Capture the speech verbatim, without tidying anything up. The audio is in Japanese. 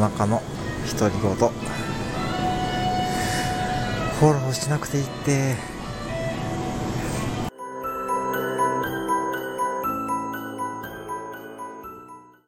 中の独り言。フォローしなくていいって。